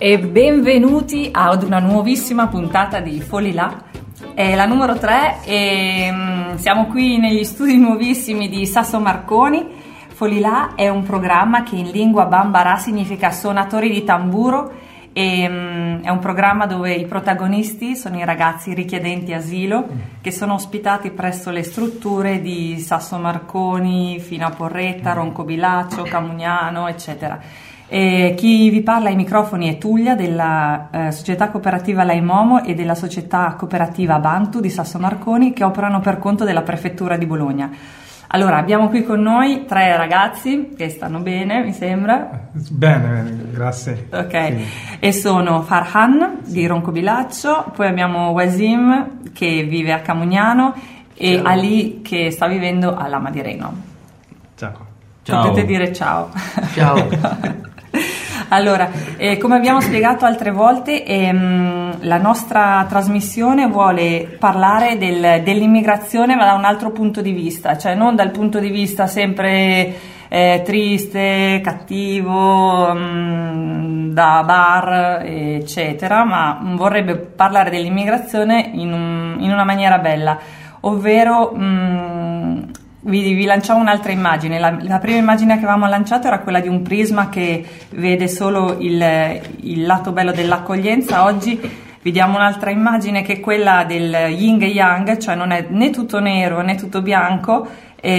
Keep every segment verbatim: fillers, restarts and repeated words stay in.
E benvenuti ad una nuovissima puntata di Folilà. È la numero tre e um, siamo qui negli studi nuovissimi di Sasso Marconi. Folilà è un programma che in lingua bambara significa suonatori di tamburo e um, è un programma dove i protagonisti sono i ragazzi richiedenti asilo che sono ospitati presso le strutture di Sasso Marconi, fino a Porretta, Roncobilaccio, Camugnano, eccetera. E chi vi parla ai microfoni è Tullia della eh, società cooperativa Laimomo e della società cooperativa Bantu di Sasso Marconi, che operano per conto della prefettura di Bologna. Allora, abbiamo qui con noi tre ragazzi che stanno bene, mi sembra. Bene, bene, grazie. Ok, sì. E sono Farhan sì. di Roncobilaccio, poi abbiamo Wasim che vive a Camugnano e ciao. Ali che sta vivendo a Lama di Reno. Ciao. Ciao. Potete dire ciao. Ciao. Allora, eh, come abbiamo spiegato altre volte, ehm, la nostra trasmissione vuole parlare del, dell'immigrazione, ma da un altro punto di vista, cioè non dal punto di vista sempre eh, triste, cattivo, mh, da bar, eccetera, ma vorrebbe parlare dell'immigrazione in, un, in una maniera bella, ovvero... Mh, Vi, vi lanciamo un'altra immagine. La, la prima immagine che avevamo lanciato era quella di un prisma che vede solo il, il lato bello dell'accoglienza. Oggi vediamo un'altra immagine che è quella del yin e yang, cioè non è né tutto nero né tutto bianco,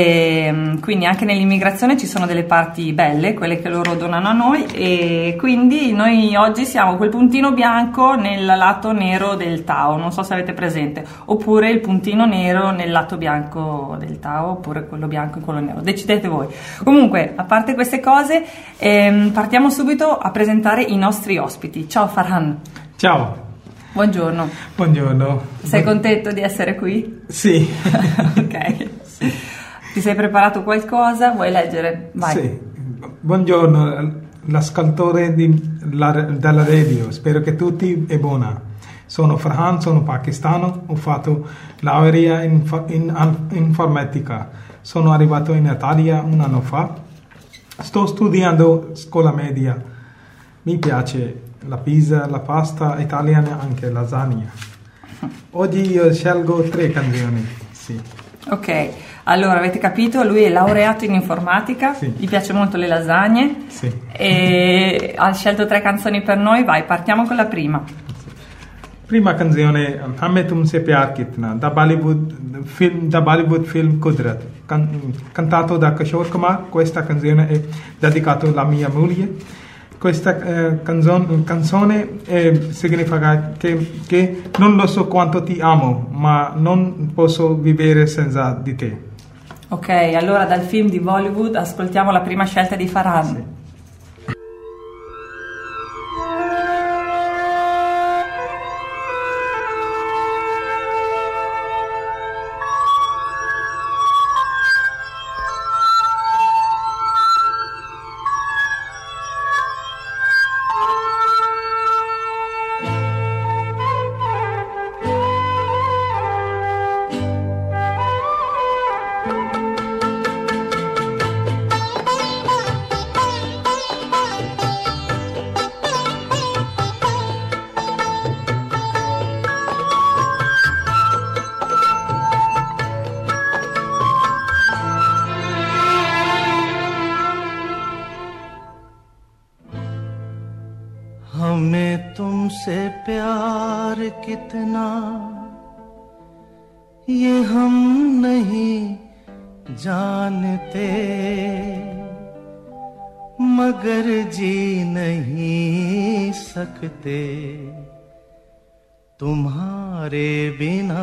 e quindi anche nell'immigrazione ci sono delle parti belle, quelle che loro donano a noi, e quindi noi oggi siamo quel puntino bianco nel lato nero del Tao, non so se avete presente, oppure il puntino nero nel lato bianco del Tao, oppure quello bianco e quello nero, decidete voi. Comunque, a parte queste cose, ehm, partiamo subito a presentare i nostri ospiti. Ciao Farhan. Ciao. Buongiorno. Buongiorno. Sei contento di essere qui? Sì. Ok. Sì. Ti sei preparato qualcosa? Vuoi leggere? Vai. Sì. Buongiorno, l'ascoltatore di, la, della radio, spero che tutti è buona. Sono Farhan, sono pakistano, ho fatto laurea in, in, in informatica. Sono arrivato in Italia un anno fa. Sto studiando scuola media. Mi piace la pizza, la pasta italiana, anche lasagna. Oggi io scelgo tre canzoni. Sì. Ok, allora avete capito, lui è laureato in informatica, sì. Gli piace molto le lasagne, sì. E ha scelto tre canzoni per noi. Vai, partiamo con la prima. Prima canzone, Hame Tumse Pyar Kitna, da Bollywood film, da Bollywood film Kudrat, can, cantato da Kishore Kumar. Questa canzone è dedicata alla mia moglie. Questa eh, canzone, canzone eh, significa che, che non lo so quanto ti amo, ma non posso vivere senza di te. Ok, allora dal film di Bollywood ascoltiamo la prima scelta di Farhan. Sì. हमें तुमसे प्यार कितना ये हम नहीं जानते, मगर जी नहीं सकते तुम्हारे बिना।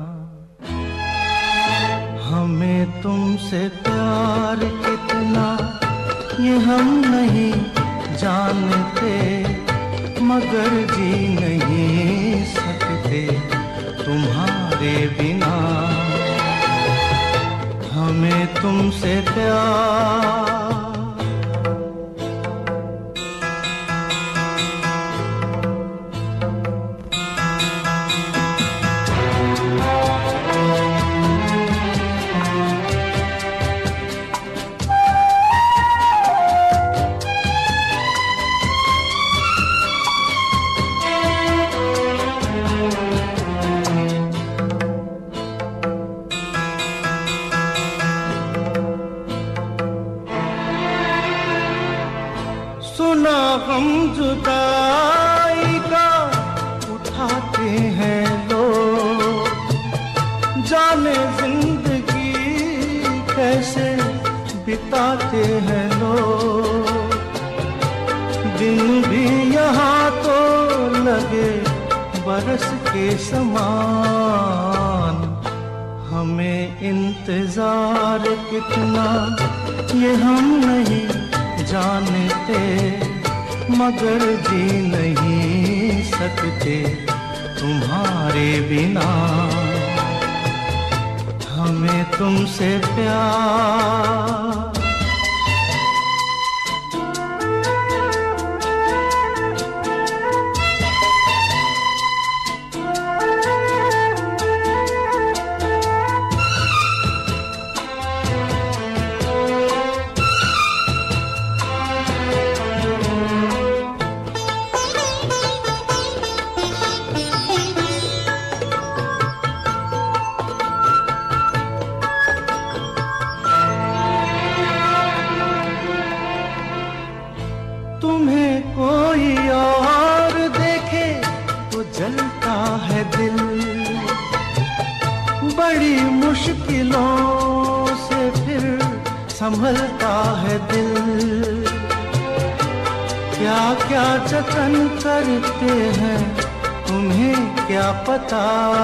हमें तुमसे प्यार कितना ये हम नहीं जानते, मगर जी नहीं सकते तुम्हारे बिना। हमें तुमसे प्यार हम जुदाई का उठाते हैं लोग, जाने जिंदगी कैसे बिताते हैं लोग। दिन भी यहाँ तो लगे बरस के समान, हमें इंतजार कितना ये हम नहीं जानते, मगर जी नहीं सकते तुम्हारे बिना। हमें तुमसे प्यार, मुश्किलों से फिर संभलता है दिल। क्या क्या जतन करते हैं तुम्हें क्या पता,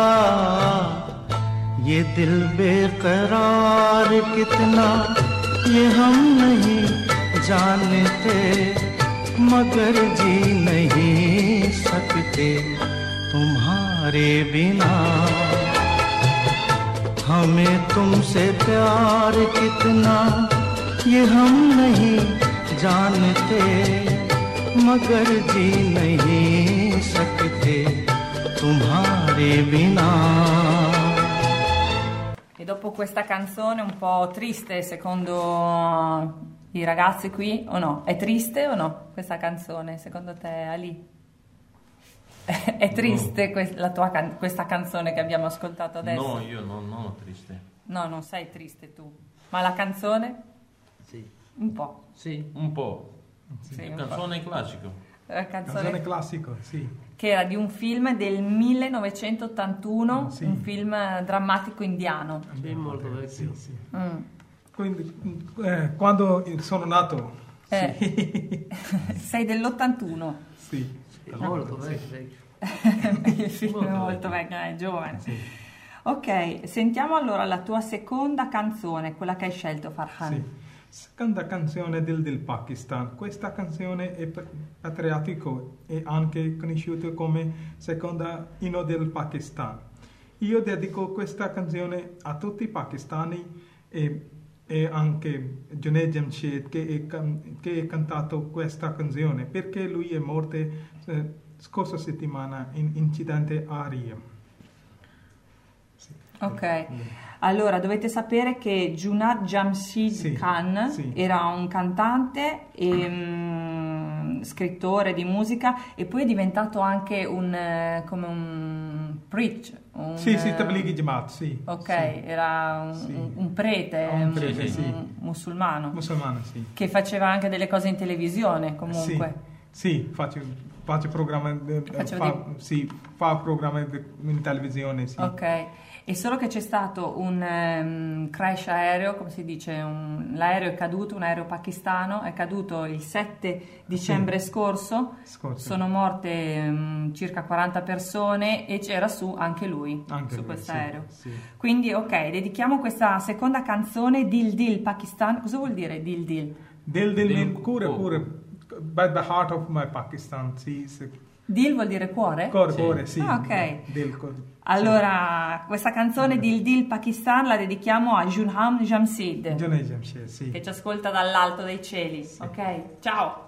ये दिल बेकरार कितना ये हम नहीं जानते, मगर जी नहीं सकते तुम्हारे बिना। हमें तुमसे प्यार कितना ये हम नहीं जानते, मगर जी नहीं सकते तुम्हारे बिना। E dopo questa canzone un po' triste, secondo i ragazzi qui, o no? È triste o no questa canzone, secondo te, Ali? È triste no. que- la tua can- questa canzone che abbiamo ascoltato adesso? No, io non sono triste. No, non sei triste tu. Ma la canzone? Sì. Un po'. Sì, un po'. Sì, Sì, un canzone classico. La canzone, Canzone classico, sì. che era di un film del millenovecentottantuno, Sì. un film drammatico indiano. Sì, molto vecchio. Sì, sì. Mm. Quindi, eh, quando sono nato, Eh, sei dell'ottantuno. sì. È molto vecchio. Il film è Molto molto vecchio. vecchio, è giovane. Sì. Ok, sentiamo allora la tua seconda canzone, quella che hai scelto, Farhan. Sì. Seconda canzone del, del Pakistan. Questa canzone è patriottico e anche conosciuta come seconda inno del Pakistan. Io dedico questa canzone a tutti i pakistani e, e anche Junaid Jamshed che ha cantato questa canzone, perché lui è morto eh, scorsa settimana in incidente aereo. Sì. Ok, allora dovete sapere che Junaid Jamshed Sì, Khan sì. era un cantante e mm, scrittore di musica, e poi è diventato anche un eh, come un preach. Un, Sì, sì, eh, Tablighi Jamaat, sì. Ok, Sì. era un, Sì. un- un prete, Un prete, un- sì. un musulmano, Musulmano, sì. che faceva anche delle cose in televisione comunque. Sì, sì, faccio, faccio programma, eh, Faccio fa, sì, fa programma di- in televisione, sì. Ok, e solo che c'è stato un ehm, crash aereo, come si dice, un- l'aereo è caduto, un aereo pakistano, è caduto il sette dicembre scorso, Scorso. sono morte ehm, circa quaranta persone e c'era su anche lui, Anche su lui, questo sì, aereo. sì. Quindi ok, dedichiamo questa seconda canzone, Dil Dil Pakistan. Cosa vuol dire Dil Dil? Dil Dil Dil mean pure, cuore. pure, by the heart of my Pakistan, sì, sì. Dil vuol dire cuore? Cuore, Sì. cuore, sì. Ah, ok. Dil, cuore. Allora, questa canzone Dil Dil Pakistan la dedichiamo a Junaid Jamshed, Junaid Jamshed, sì. che ci ascolta dall'alto dei cieli. Ok, ciao.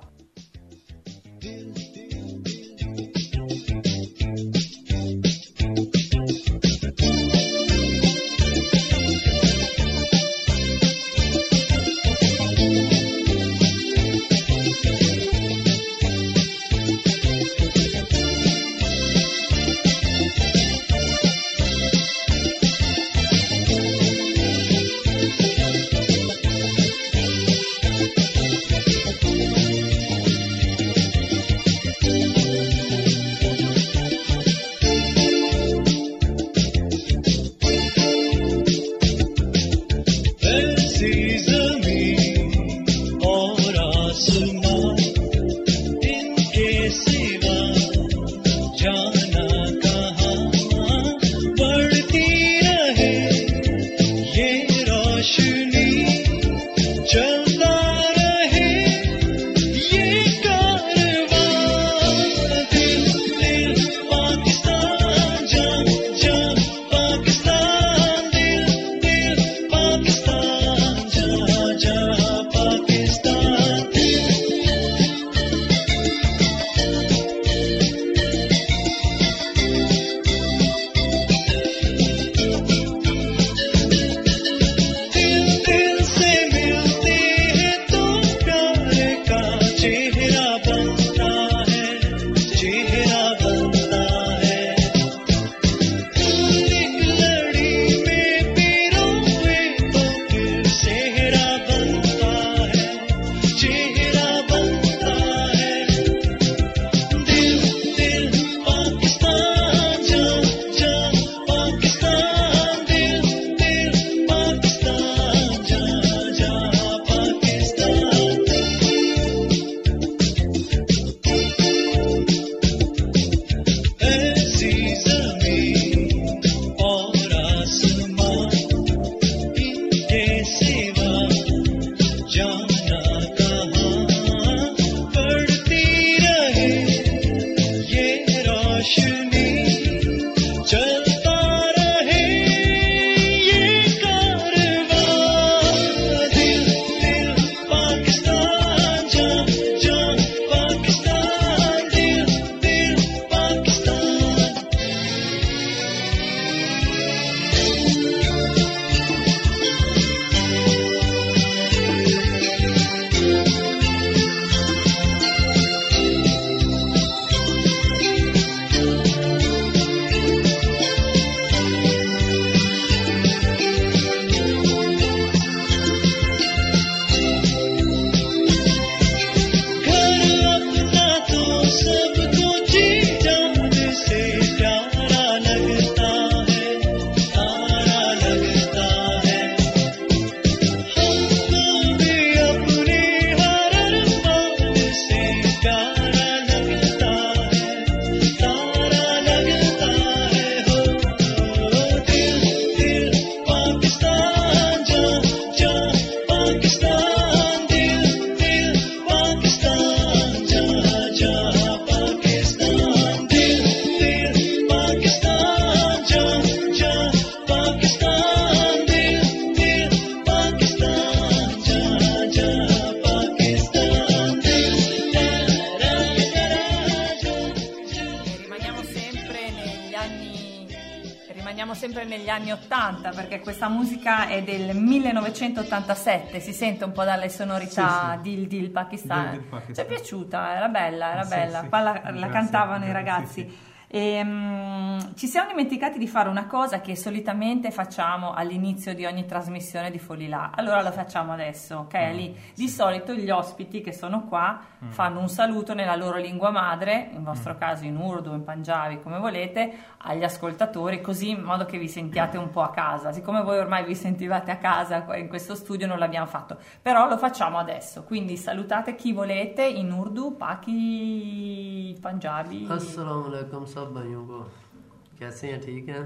sempre negli anni ottanta, perché questa musica è del millenovecentottantasette, si sente un po' dalle sonorità Sì, sì. Dil Dil Pakistan. Dil Dil Pakistan. Ci è piaciuta, era bella, era Sì, bella. sì. Qua la, la Grazie, cantavano i grazie, ragazzi. sì. E, mm, ci siamo dimenticati di fare una cosa che solitamente facciamo all'inizio di ogni trasmissione di Folilà. Allora lo facciamo adesso, ok? Mm, Lì, di solito gli ospiti che sono qua Mm. fanno un saluto nella loro lingua madre, in Mm. vostro caso in urdu, in panjabi, come volete, agli ascoltatori, così in modo che vi sentiate un po' a casa. Siccome voi ormai vi sentivate a casa qua in questo studio, non l'abbiamo fatto, però lo facciamo adesso. Quindi salutate chi volete in urdu, paki, panjabi. अस्सलाम वालेकुम सब भाइयों को कैसे हैं ठीक हैं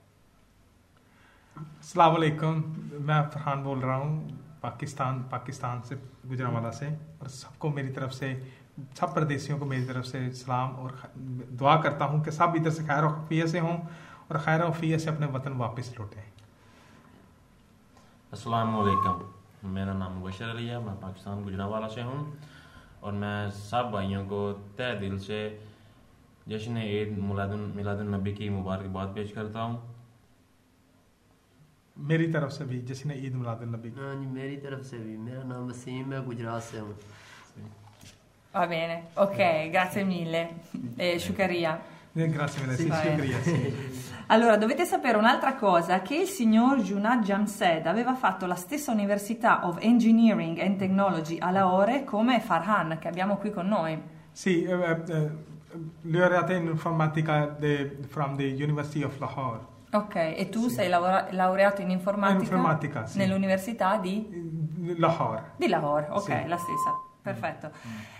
अस्सलाम वालेकुम, मैं फरहान बोल रहा हूँ पाकिस्तान पाकिस्तान से गुजरांवाला से, और सबको मेरी तरफ से, सब परदेसियों को मेरी तरफ से सलाम और ख- दुआ करता हूँ कि सब इधर से खैर और खफियत से हों और खैर और खफियत से अपने वतन वापस लौटें। अस्सलाम वालेकुम, मेरा नाम मुबशर अली है, मैं पाकिस्तान गुजरांवाला से हूँ और मैं सब भाइयों को तहे दिल से जश्न ईद मिलादुन नबी की मुबारकबाद पेश करता हूँ। मेरी तरफ से भी जश्न ईद मिलादुन नबी। हाँ जी मेरी तरफ से भी। मेरा नाम वसीम है, गुजरात से हूँ। Va bene, ok, grazie mille. Eh, Shukaria. Eh, Grazie mille, sì, Vai. shukriya, sì. Allora, dovete sapere un'altra cosa, che il signor Junad Jamshed aveva fatto la stessa Università of Engineering and Technology a Lahore come Farhan, che abbiamo qui con noi. Sì, eh, eh, laureata in informatica de- from the University of Lahore. Ok, e tu sei lavora- laureato in informatica, In informatica, sì. nell'Università di, Lahore. di Lahore, ok, Sì. la stessa, perfetto.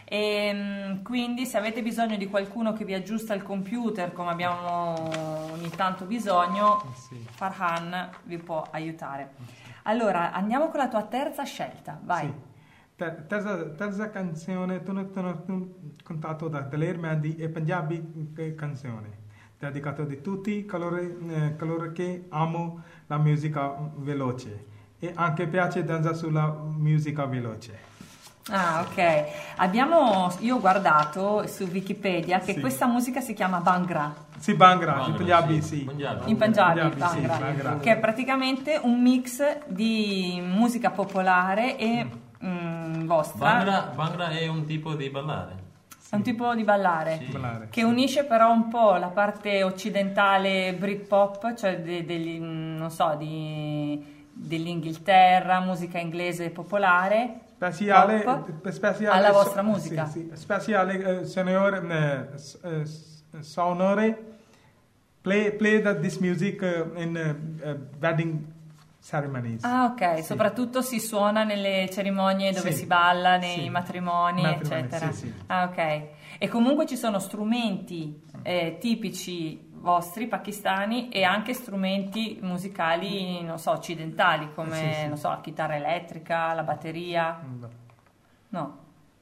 E, quindi se avete bisogno di qualcuno che vi aggiusta il computer, come abbiamo ogni tanto bisogno, Sì. Farhan vi può aiutare. Allora, andiamo con la tua terza scelta, vai. Sì. Ter- Terza, terza canzone, tu non ho contato da Daler Mehndi e Punjabi eh, canzone, dedicato di tutti coloro, eh, coloro che amo la musica veloce e anche piace danza sulla musica veloce. Ah, ok. Abbiamo, io ho guardato su Wikipedia che Sì. questa musica si chiama Bhangra. Sì, Bhangra, in Bhangra, Punjabi sì. sì. Punjabi. In Punjabi, Punjabi, sì, Bhangra, Bhangra. che è praticamente un mix di musica popolare e mm, vostra. Bhangra, Bhangra è un tipo di ballare. È un tipo di ballare. Sì. Ballare, Che sì. unisce però un po' la parte occidentale Britpop, cioè de- degli, mm, non so, di, dell'Inghilterra, musica inglese popolare, Speciale, pop, speciale alla vostra so- musica. sì, sì. Speciale, eh, signor, eh, s- eh, s- sonore, play, play the, this music eh, in eh, eh, wedding ceremonies. Ah, ok, Sì. soprattutto si suona nelle cerimonie dove Sì. si balla, nei Sì. matrimoni, Matrimoni, eccetera. sì, sì. Ah, ok. E comunque ci sono strumenti eh, tipici vostri pakistani e anche strumenti musicali, non so, occidentali, come Sì, sì. non so, la chitarra elettrica, la batteria. Mm. No.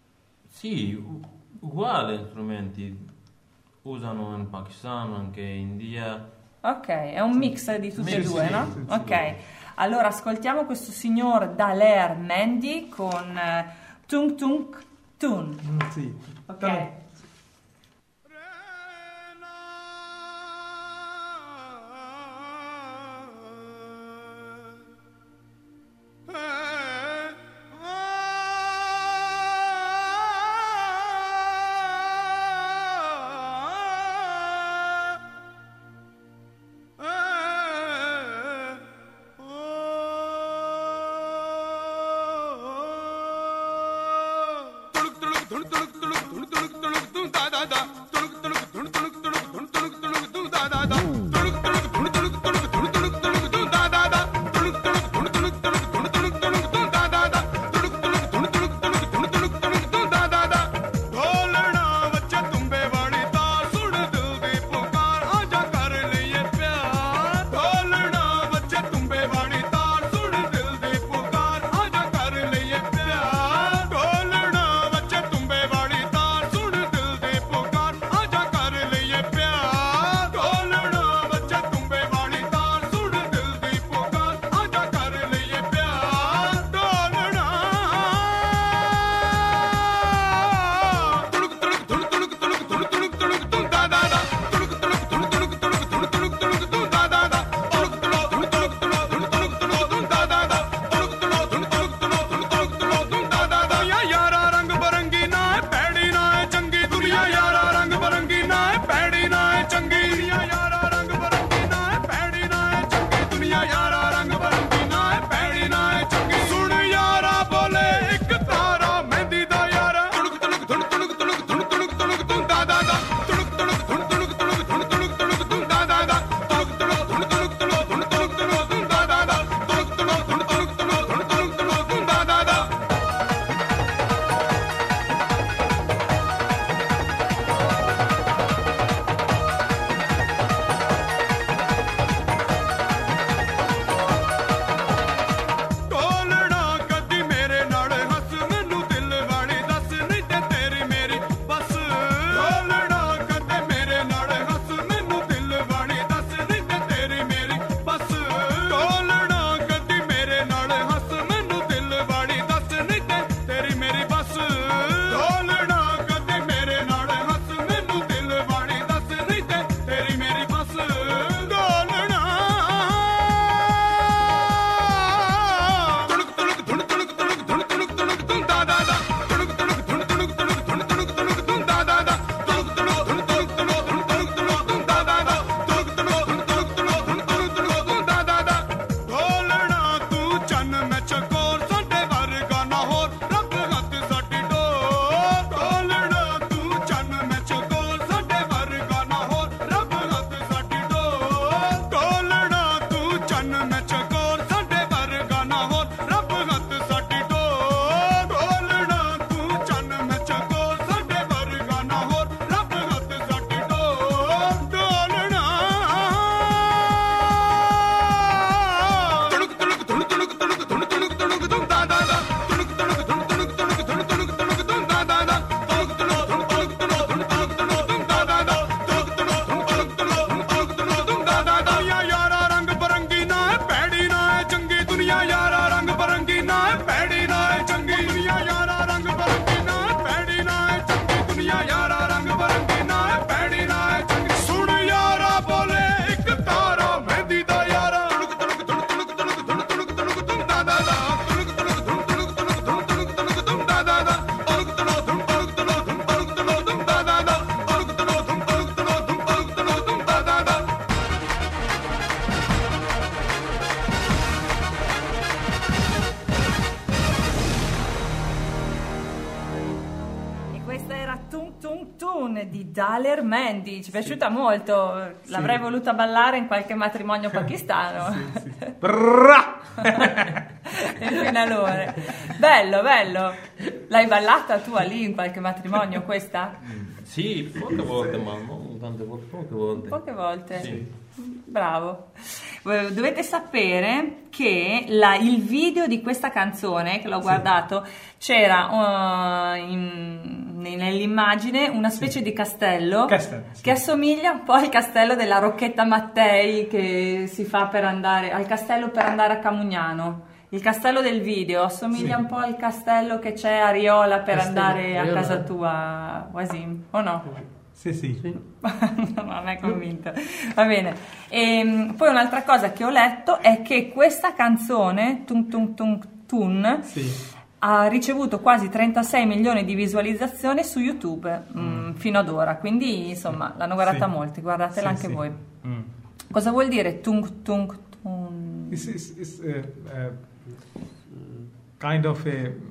Sì, u- uguali strumenti usano in Pakistan, anche in India. Ok, è un mix di tutte e Sì, due, sì, no? sì, sì, Ok. sì. Allora ascoltiamo questo signor Daler Mehndi con eh, Tung Tung Tun. Mm, sì. Ok. ढोलना बच्चे तुम्बे वाली तार सुन दिल दे पुकार Tung Tung Tun di Daler Mendy, ci è piaciuta molto, l'avrei voluta ballare in qualche matrimonio pakistano. Sì, sì. Brrra! Il finalone. Bello, bello. L'hai ballata tu lì in qualche matrimonio questa? Sì, poche volte, ma non tante volte, poche volte. Poche volte? Sì. Bravo. Dovete sapere che la- il video di questa canzone, che l'ho guardato, c'era uh, in- nell'immagine una specie di castello, Castello, sì. che assomiglia un po' al castello della Rocchetta Mattei che si fa per andare al castello per andare a Camugnano. Il castello del video assomiglia Sì. un po' al castello che c'è a Riola per Castello andare a Riola. casa tua, Wasim, o no? Sì, sì. No, non è convinto. Va bene. E, poi un'altra cosa che ho letto è che questa canzone, Tung Tung Tung Tun, Sì. ha ricevuto quasi trentasei milioni di visualizzazioni su YouTube mm, fino ad ora, quindi insomma l'hanno guardata Sì. molti, guardatela Sì, anche sì. voi. Mm. Cosa vuol dire Tung Tung Tun? It's, it's, it's, uh, uh, kind of a...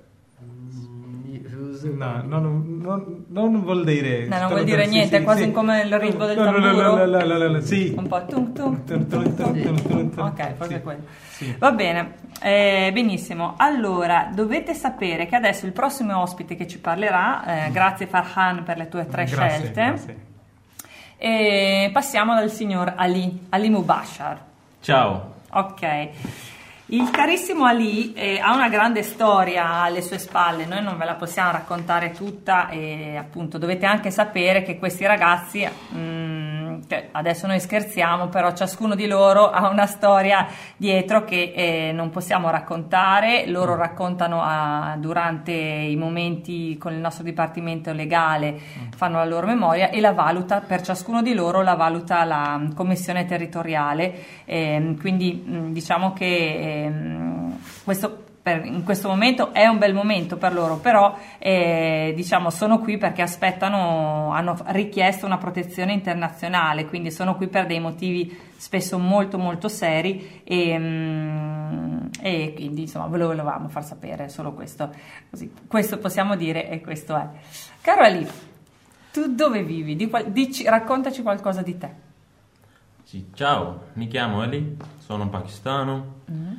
No, non, non, non vuol dire... No, non vuol dire niente, è quasi come il ritmo del No, no, no, tamburo. no, no, no, no, no, sì. Un po' tung tung Tum, tum, tum, tum, tum, tum. Ok, forse Sì. è quello. Sì. Va bene, eh, benissimo. Allora, dovete sapere che adesso il prossimo ospite che ci parlerà, eh, grazie Farhan per le tue tre Grazie, scelte, grazie. e passiamo dal signor Ali, Ali Mubashar. Ciao. Ok. Il carissimo Ali eh, ha una grande storia alle sue spalle, noi non ve la possiamo raccontare tutta e appunto dovete anche sapere che questi ragazzi, mm, cioè, adesso noi scherziamo, però ciascuno di loro ha una storia dietro che eh, non possiamo raccontare, loro raccontano a- durante i momenti con il nostro dipartimento legale, fanno la loro memoria e la valuta, per ciascuno di loro la valuta la commissione territoriale, ehm, quindi mh, diciamo che ehm, questo per- in questo momento è un bel momento per loro, però eh, diciamo sono qui perché aspettano, hanno richiesto una protezione internazionale, quindi sono qui per dei motivi spesso molto molto seri e, mm, e quindi insomma ve lo volevamo far sapere, solo questo, così, questo possiamo dire e questo è. Caro Ali, tu dove vivi? Di qual- dici- raccontaci qualcosa di te. Sì, ciao, mi chiamo Ali, sono pakistano,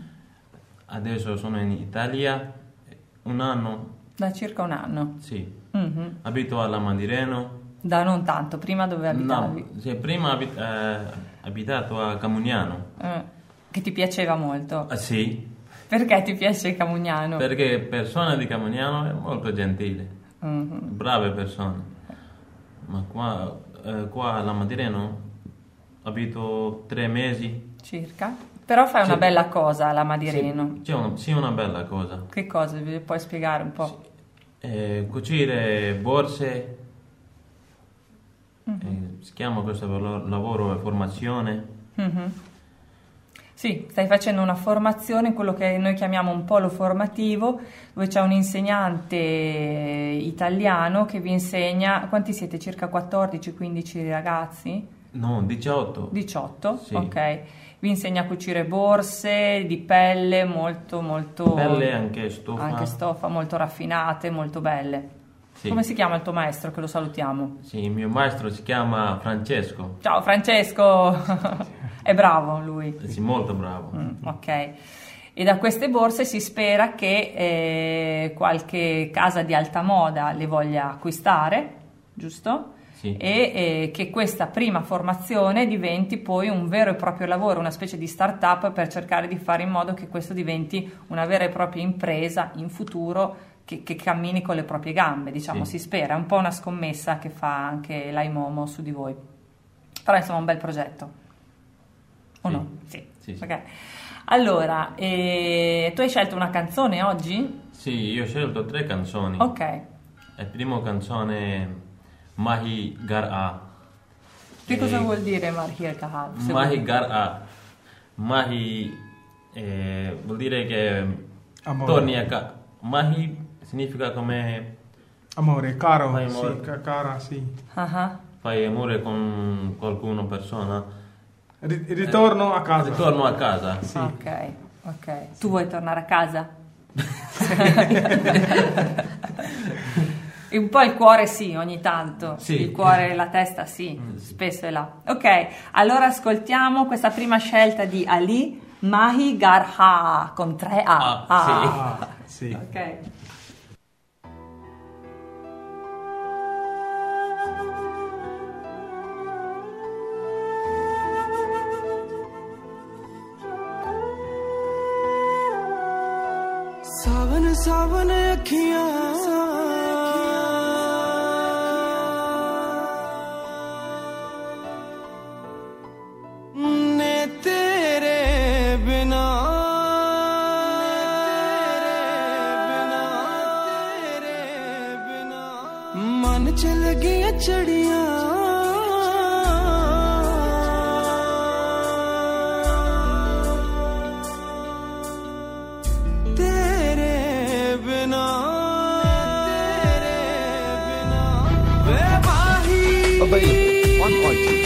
adesso sono in Italia, un anno, Da circa un anno. sì, Mhm. abito alla Mandireno. Da non tanto, prima dove abitavi? No, sì, prima abit- eh, abitato a Camugnano. Eh, che ti piaceva molto. Ah, sì, Perché ti piace Camugnano? perché persone di Camugnano è molto gentile, Mhm. brave persone. Ma qua, eh, qua alla Mandireno abito tre mesi. Circa. Però fai una Sì. bella cosa alla Madireno. Sì, c'è una, sì, una bella cosa. Che cosa? Vi puoi spiegare un po'? Eh, cucire borse, eh, si chiama questo lavoro, lavoro formazione. Mhm. Sì, stai facendo una formazione, quello che noi chiamiamo un polo formativo, dove c'è un insegnante italiano che vi insegna, quanti siete? Circa quattordici quindici ragazzi? No, diciotto. diciotto? Sì. Ok. Vi insegna a cucire borse di pelle molto molto... Pelle, anche stoffa. Anche stoffa, molto raffinate, molto belle. Sì. Come si chiama il tuo maestro, che lo salutiamo? Sì, il mio maestro si chiama Francesco. Ciao Francesco! È bravo lui. Sì, molto bravo. Mm, ok. E da queste borse si spera che eh, qualche casa di alta moda le voglia acquistare, giusto? Sì. E eh, che questa prima formazione diventi poi un vero e proprio lavoro, una specie di start-up per cercare di fare in modo che questo diventi una vera e propria impresa in futuro che, che cammini con le proprie gambe, diciamo, Sì. si spera. È un po' una scommessa che fa anche l'Aimomo su di voi. Però insomma è un bel progetto. O Sì. no? Sì. Sì, sì. Ok. Allora, eh, tu hai scelto una canzone oggi? Sì, io ho scelto tre canzoni. Ok. La prima canzone Mahi Gar'a. Che cosa Eh, vuol dire Marhir Kahal? Se Mahi vuoi- Gar'a. Mahi eh, vuol dire che Amore. torni a casa. Mahi significa come Amore, caro, Fai amore. sì, ca- cara, sì. Ah ah. fai amore con qualcuno, persona. Ri- ritorno a casa. Ritorno a casa. Sì. Ok, ok. Tu vuoi tornare a casa? E un po' il cuore sì, ogni tanto. Sì. Il cuore e la testa sì, spesso è là. Ok, allora ascoltiamo questa prima scelta di Ali, Mahi Garha, con tre A. Ah, sì. Ah, sì. Ok. सावन सावन अखियां ने तेरे बिना तेरे बिना मन चल गया चढ़िया Available on iTunes.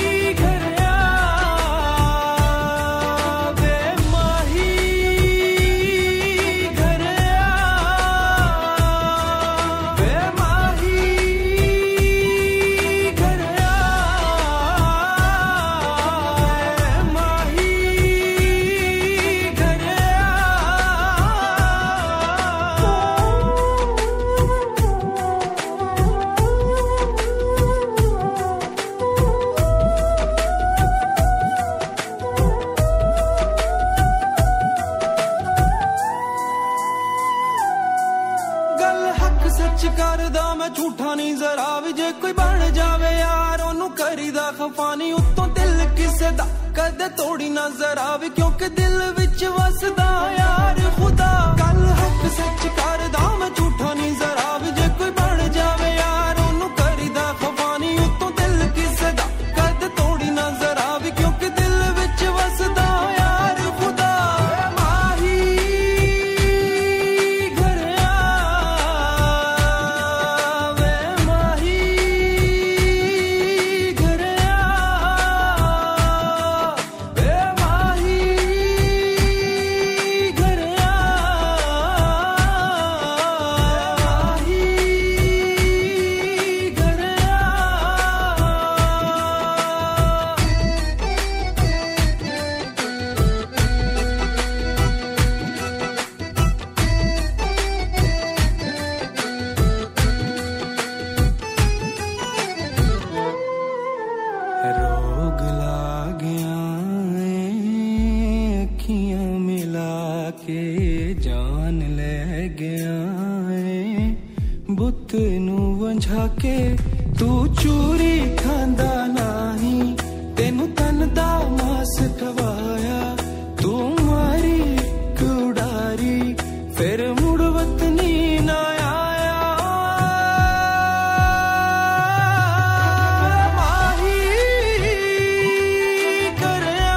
झूठा नहीं जरा भी जे कोई बन जावे यार ओनू करीदा खफानी उत्तों दिल किसे दा कदे तोड़ी ना जरा भी क्योंकि दिल विच वसदा यार खुदा गल हक सच करदा मैं झूठा नहीं जरा भी जे कोई बन जावे यार ओनू करीदा खफानी उत्तों दिल किसे दा कदे तोड़ी ना जरा भी क्योंकि दिल विच वसदा यार खुदा माही के तू चूरी खांदा नाही तेनू तन दा मास खवाया तू मारी कुड़ारी फिर मुड़ वतनी ना आया माही करया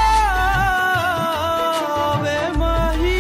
वे माही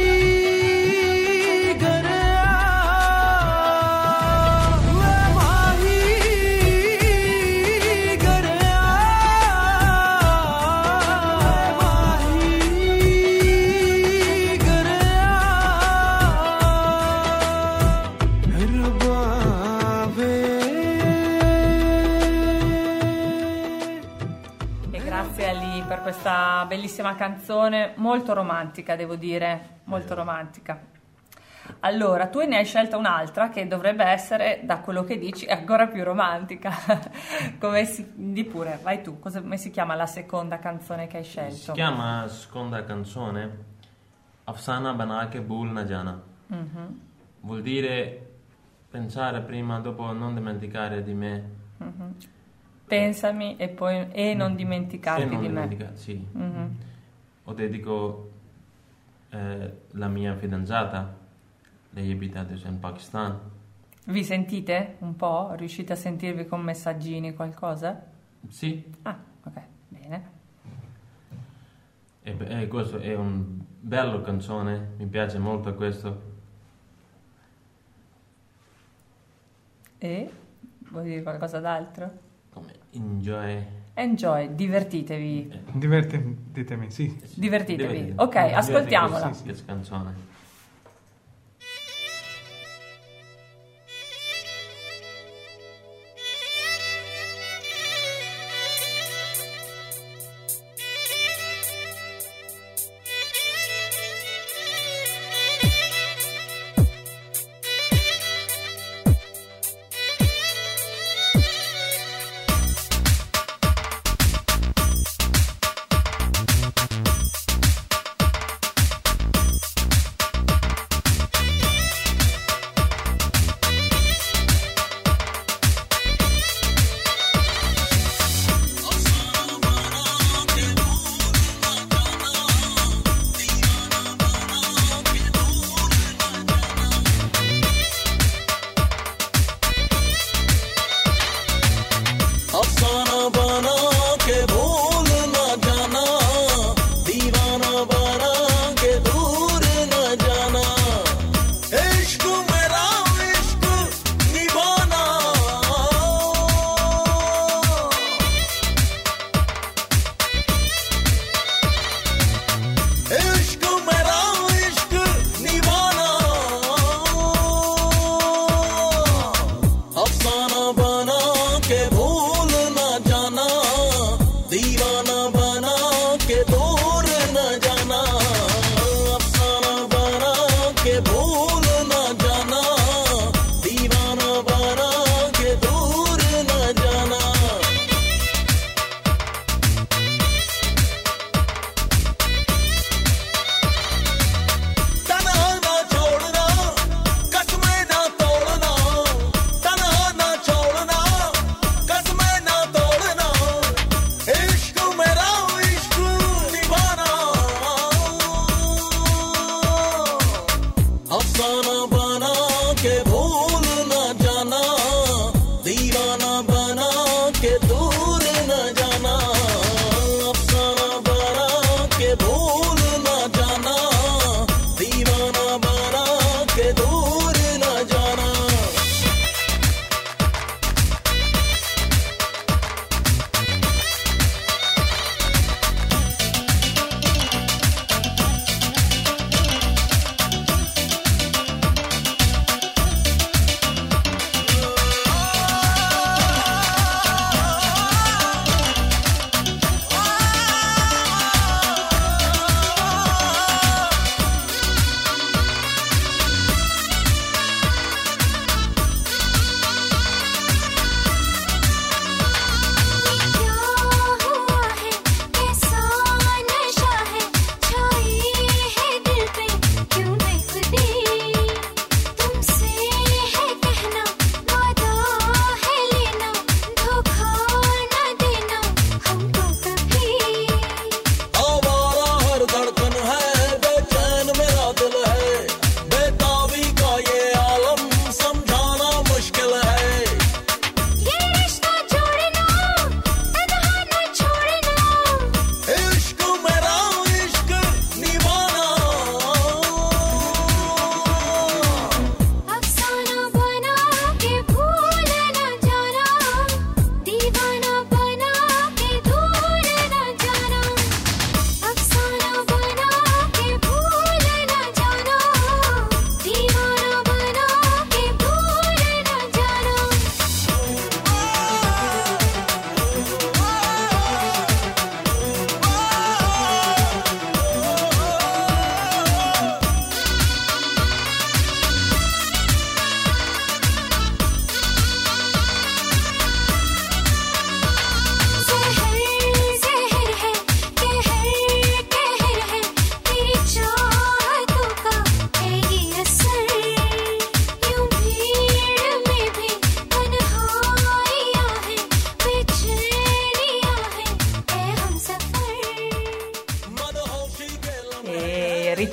per questa bellissima canzone, molto romantica, devo dire, molto romantica. Allora, tu ne hai scelta un'altra che dovrebbe essere, da quello che dici, ancora più romantica. Come si... Di pure, vai tu, cosa, come si chiama la seconda canzone che hai scelto? Si chiama seconda canzone Afsana bana ke bhul na jana. Mm-hmm. Vuol dire pensare prima, dopo non dimenticare di me. Mm-hmm. Pensami e poi e non dimenticarti e non di dimentica, me. Sì. Mm-hmm. O dedico eh, la mia fidanzata, lei abita adesso in Pakistan. Vi sentite un po'? Riuscite a sentirvi con messaggini, qualcosa? Sì. Ah, ok, bene. E, e questo è un bello canzone, mi piace molto questo. E? Vuoi dire qualcosa d'altro? Come enjoy. Enjoy, divertitevi. Eh. Divertitevi, sì. Divertitevi. Divertitevi. Ok, ascoltiamola. Sì, sì. Questa canzone.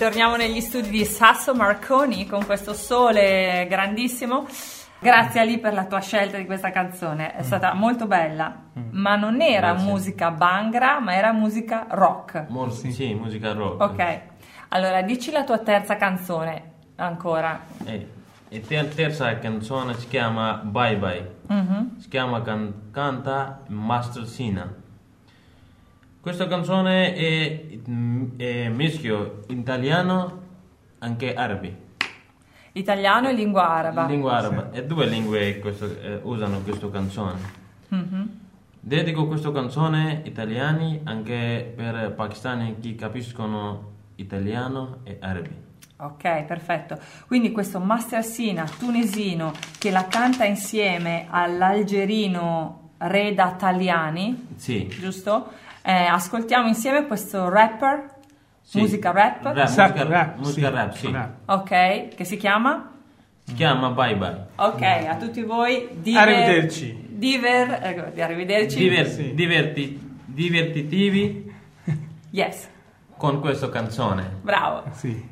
ritorniamo negli studi di Sasso Marconi con questo sole grandissimo. Grazie Ali per la tua scelta di questa canzone, è stata molto bella, ma non era Grazie. musica Bhangra, ma era musica rock. Mol- sì, musica rock. Ok, allora dici la tua terza canzone ancora. E, e te- terza canzone si chiama Bye Bye. Mhm. Si chiama can- canta Master Sina. Questa canzone è, è mischio italiano anche arabi. Italiano e lingua araba. Lingua araba. E due lingue questo, eh, usano questa canzone. Mhm. Dedico questa canzone italiani anche per pakistani che capiscono italiano e arabi. Ok, perfetto. Quindi questo Master Sina tunisino che la canta insieme all'algerino Reda Taliani, Sì. giusto? Eh, ascoltiamo insieme questo rapper, Sì. musica rap, Rap, Sa- musica rap, musica sì. rap, sì. Rap. ok, che si chiama? Si chiama Bye Bye. Ok, a tutti voi, diver- Arrivederci. Diver, ecco, arrivederci. Diver- Sì. diverti- divertitivi Yes, con questa canzone. bravo. Sì.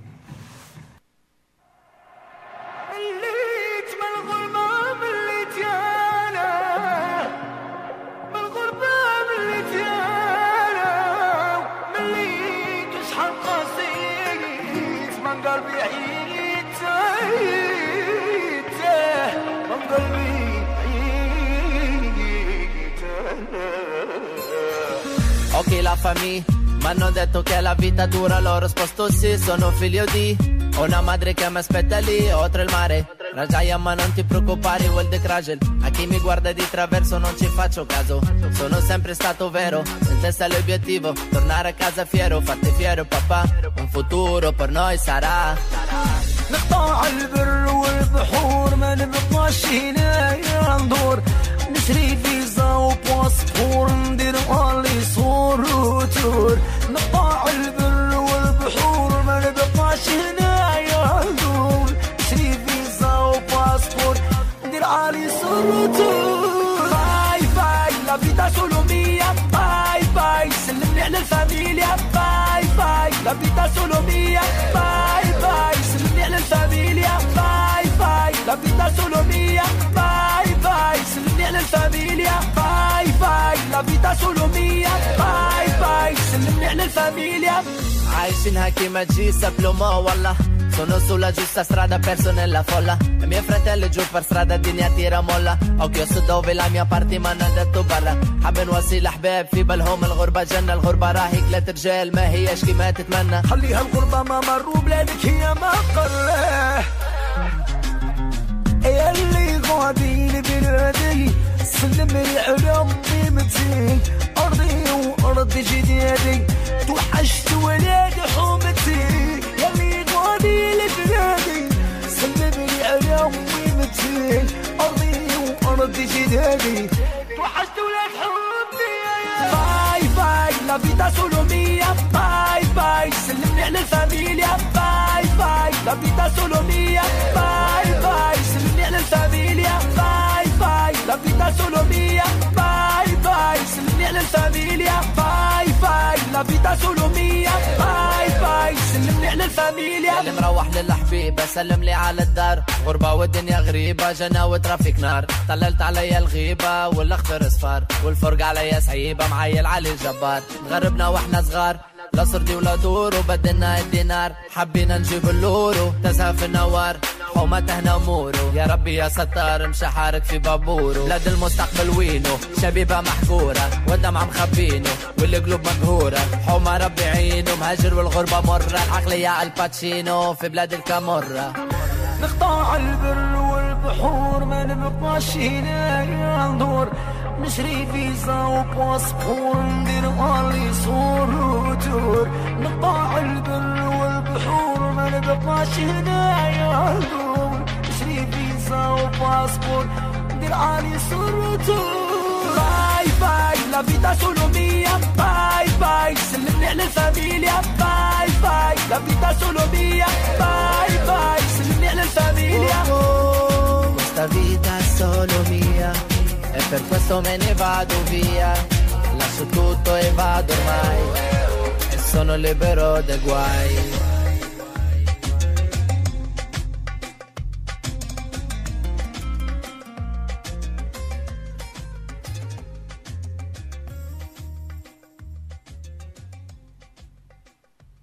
مليت بالغربة مليت أنا بالغربة مليت أنا مليت وشحال قاسيت من قلبي عييت عييت من قلبي عييت أنا. Ok la famiglia, mi hanno detto che la vita dura, l'ho risposto sì, sono figlio di ho una madre che mi aspetta lì, oltre il mare. Rajaia ma non ti preoccupare, vuol de Krajel. A chi mi guarda di traverso non ci faccio caso. Sono sempre stato vero, in testa l'obiettivo tornare a casa fiero, farti fiero papà. Un futuro per noi sarà. نقطع البر والبحور ما نبقاش هنا ندور نشري فيزا وباسبور ندير اونلي صور وتور نقطع البر والبحور ما نبقاش هنا ندور نشري فيزا وباسبور ندير علي صور وتور باي باي لا فيتا سولو مية باي باي سلمني على الفاميليا باي باي لا فيتا سولو مية باي باي سلمني على الفاميليا باي باي لا فيتا سولو مية باي باي سلمني على الفاميليا باي باي لا فيتا سولو مية باي باي سلمني على الفاميليا عايشينها كيما تجي سبلوما والله. Sono sulla giusta strada perso nella folla. I miei fratelli giù per strada الدنيا tira molla. Occhio su dove la mia parte ما انا دتو برا. حابين وسيل احباب في بالهم الغربة جنة. الغربة راهي كلات رجال ما هياش كيما تتمنى. خليها الغربة ما مروا بلادك هي ما قراه يا اللي غادي بلادي سلم لي على قيمتي أرضي وأرض جدادي توحشت ولادي حومتي يا اللي غادي لبلادي سلم لي على قيمتي أرضي وأرض جدادي توحشت ولاد حومتي باي باي لا فيتا سولو مية باي باي سلمني على الفاميليا باي باي لا فيتا سولو مية باي باي سلمني على الفاميليا باي باي لا فيتا سولو مية باي باي سلمني على الفاميليا باي باي لا فيتا سولو مية باي باي سلمني على الفاميليا اللي مروح للحبيبة سلم لي على الدار. غربة والدنيا غريبة جنة وترافيك نار. طللت عليا الغيبة والاخضر اصفار والفرق عليا صعيبة معيل علي الجبار. غربنا واحنا صغار لا صردي ولا دور وبدلنا الدينار. حبينا نجيب اللورو تزهى في النوار حومته نمورو. يا ربي يا ستار مش حارك في بابورو. بلاد المستقبل وينو شبيبة محقورة والدمع مخبينو والقلوب مقهورة. حومة ربي عينو مهاجر والغربة مرة. العقلية الباتشينو في بلاد الكامورة. نقطع البر والبحور ما نبقاش هنا ندور نشري فيزا وباسبور ندير اونلي صور وتور. نقطع البر والبحور ما نبقاش هنا ندور نشري فيزا وباسبور ندير علي صور وتور. باي باي لا فيتا سولو مية باي باي سلمني على الفاميليا باي باي لا فيتا سولو مية باي باي سلمني على الفاميليا. Questa vita è solo mia e per questo me ne vado via. Lascio tutto e vado ormai e sono libero dai guai.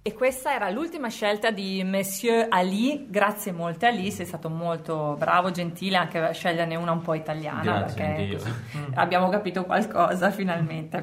E questa era l'ultima scelta di Monsieur Ali. Grazie molte Ali, sei stato molto bravo, gentile anche a sceglierne una un po' italiana. Grazie, perché Dio. abbiamo capito qualcosa finalmente.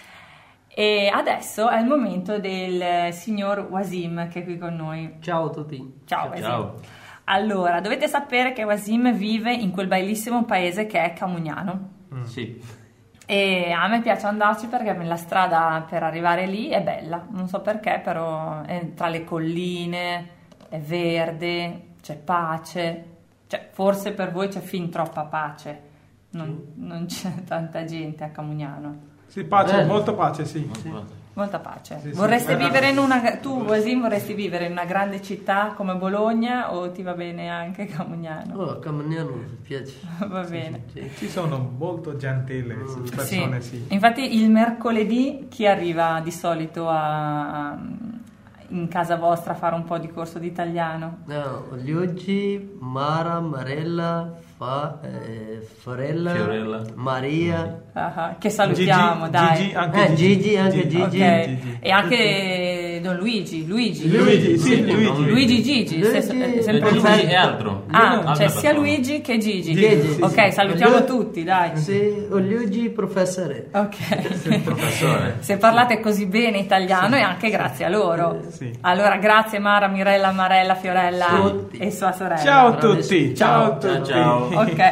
E adesso è il momento del signor Wasim che è qui con noi. Ciao a tutti. Ciao Wasim. Ciao. Allora, dovete sapere che Wasim vive in quel bellissimo paese che è Camugnano. Sì. E a me piace andarci perché la strada per arrivare lì è bella, non so perché, però è tra le colline, è verde, c'è pace, cioè forse per voi c'è fin troppa pace, non, non c'è tanta gente a Camugnano. Sì, pace, Bello. molta pace, sì. Molta pace. Sì, sì. Vorresti Eh, vivere in una, tu Wasim vorresti vivere in una grande città come Bologna o ti va bene anche Camugnano? Oh, Camugnano mi piace. Va bene. Sì. Ci sono molto gentili persone, sì. Infatti il mercoledì chi arriva di solito a, a- in casa vostra a fare un po' di corso di italiano? No, oggi Mara, Marella, Fa, eh, Forella, Fiorella. Maria. Ah, ah, che salutiamo, Gigi, dai. Gigi, anche Eh, Gigi, anche Gigi. Ok. Gigi. E anche Don Luigi, Luigi. Luigi, sì, Luigi. Luigi. Luigi Gigi, Luigi. se- è E sempre Luigi Luigi. è altro. Ah, Altra c'è sia persona. Luigi che Gigi. Gigi, sì, ok, sì. salutiamo Lu- tutti, dai. Sì, oggi professore. Ok. Professore. Se parlate così bene italiano è anche grazie a loro. Sì. Allora, grazie Mara, Mirella, Marella, Fiorella Tutti. e sua sorella. Ciao a Bravo. tutti, ciao a tutti. Ciao. Ok.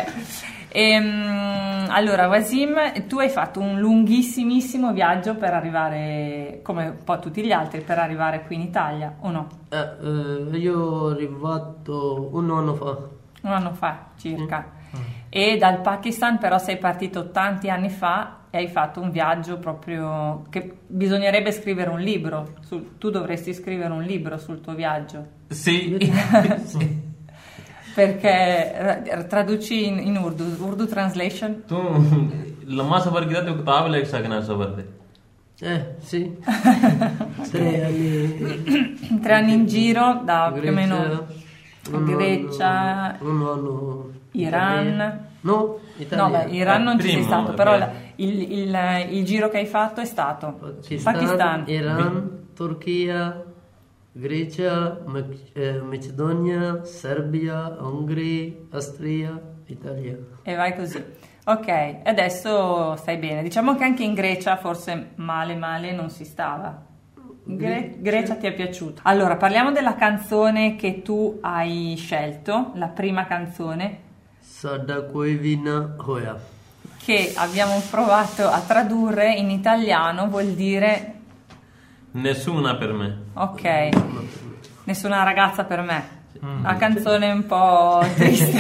Ehm, allora, Wasim, tu hai fatto un lunghissimissimo viaggio per arrivare, come un po' tutti gli altri, per arrivare qui in Italia, o no? Eh, eh, io sono arrivato un anno fa. Un anno fa circa. E dal Pakistan però sei partito tanti anni fa e hai fatto un viaggio proprio che bisognerebbe scrivere un libro. Su- tu dovresti scrivere un libro sul tuo viaggio. Sì. Sì. Perché eh, traduci in, in Urdu, Urdu translation. तू लम्बा सफर किया तो किताब लिख सकना सफर पे Eh, sì. Tre anni. Tre anni in giro da più o meno un Grecia, anno- un anno Iran. No, Italia. No, beh, Iran non ci sei Primo, stato, è però vero. la- il, il- il giro che hai fatto è stato Pakistan, Pakistan. Iran, Turchia, Grecia, Mac- eh, Macedonia, Serbia, Ungheria, Austria, Italia. E vai così. Ok, adesso stai bene. Diciamo che anche in Grecia forse male male non si stava. Gre- Grecia ti è piaciuta. Allora, parliamo della canzone che tu hai scelto, la prima canzone, Sada koi vi na hoya. che abbiamo provato a tradurre in italiano, vuol dire Nessuna per me. ok, nessuna ragazza per me. Una canzone un po' triste,